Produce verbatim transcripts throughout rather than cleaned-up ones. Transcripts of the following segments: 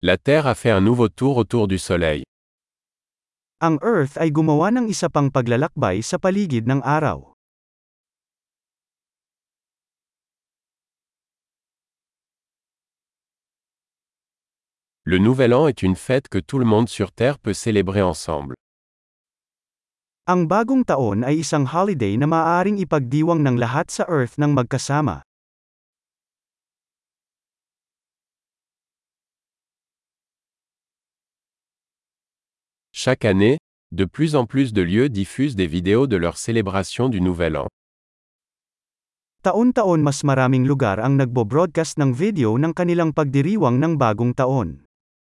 La Terre a fait un nouveau tour autour du Soleil. Ang Earth ay gumawa ng isa pang paglalakbay sa paligid ng araw. Le Nouvel An est une fête que tout le monde sur Terre peut célébrer ensemble. Ang bagong taon ay isang holiday na maaaring ipagdiwang ng lahat sa Earth ng magkasama. Chaque année, de plus en plus de lieux diffusent des vidéos de leur célébration du Nouvel An. Taon-taon mas maraming lugar ang nagbo-broadcast ng video ng kanilang pagdiriwang ng bagong taon.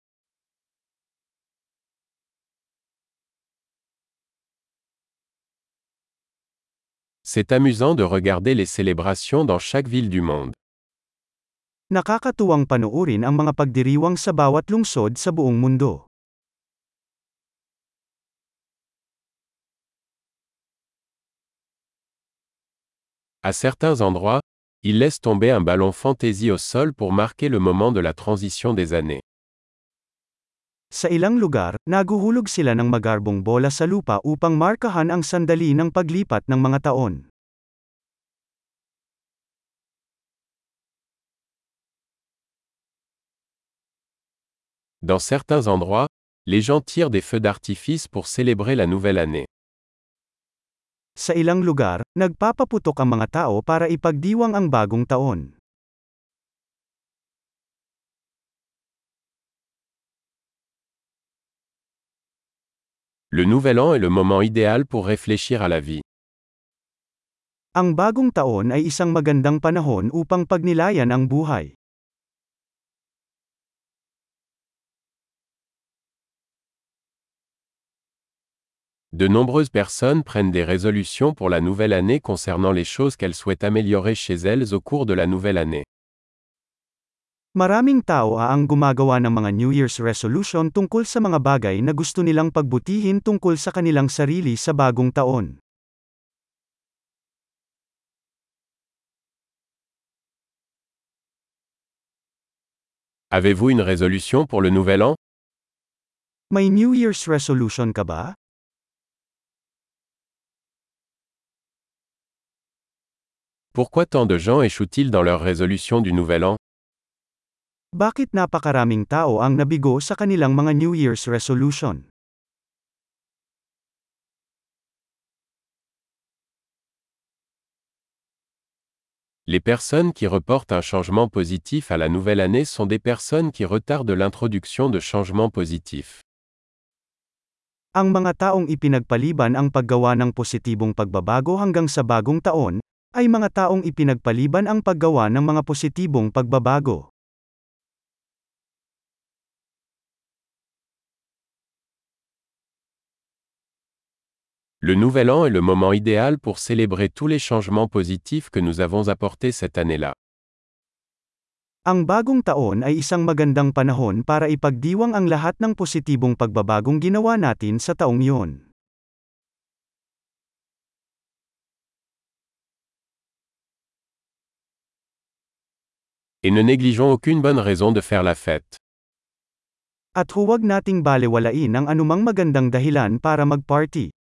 C'est amusant de regarder les célébrations dans chaque ville du monde. Nakakatuwang panoorin ang mga pagdiriwang sa bawat lungsod sa buong mundo. À certains endroits, ils laissent tomber un ballon fantaisie au sol pour marquer le moment de la transition des années. Sa ilang lugar, naguhulog sila ng magarbong bola sa lupa upang markahan ang sandali ng paglipat ng mga taon. Dans certains endroits, les gens tirent des feux d'artifice pour célébrer la nouvelle année. Sa ilang lugar, nagpapaputok ang mga tao para ipagdiwang ang bagong taon. Le Nouvel An est le moment idéal pour réfléchir à la vie. Ang bagong taon ay isang magandang panahon upang pagnilayan ang buhay. De nombreuses personnes prennent des résolutions pour la nouvelle année concernant les choses qu'elles souhaitent améliorer chez elles au cours de la nouvelle année. Maraming tao ang gumagawa ng mga New Year's resolution tungkol sa mga bagay na gusto nilang pagbutihin tungkol sa kanilang sarili sa bagong taon. Avez-vous une résolution pour le Nouvel An? May New Year's resolution ka ba? Pourquoi tant de gens échouent-ils dans leur résolution du Nouvel An? Bakit napakaraming tao ang nabigo sa kanilang mga New Year's resolution? Les personnes qui reportent un changement positif à la nouvelle année sont des personnes qui retardent l'introduction de changements positifs. Ang mga taong ipinagpaliban ang paggawa ng positibong pagbabago hanggang sa bagong taon, ay mga taong ipinagpaliban ang paggawa ng mga positibong pagbabago. Le Nouvel An est le moment idéal pour célébrer tous les changements positifs que nous avons apportés cette année-là. Ang bagong taon ay isang magandang panahon para ipagdiwang ang lahat ng positibong pagbabagong ginawa natin sa taong iyon. Et ne négligeons aucune bonne raison de faire la fête. At huwag nating balewalain ang anumang magandang dahilan para mag-party.